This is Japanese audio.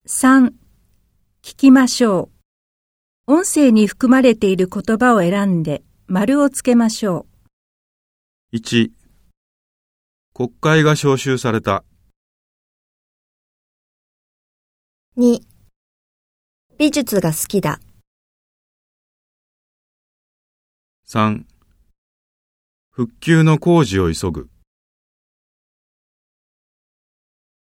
3、聞きましょう。音声に含まれている言葉を選んで丸をつけましょう。 1、国会が召集された。 2、美術が好きだ。 3、復旧の工事を急ぐ。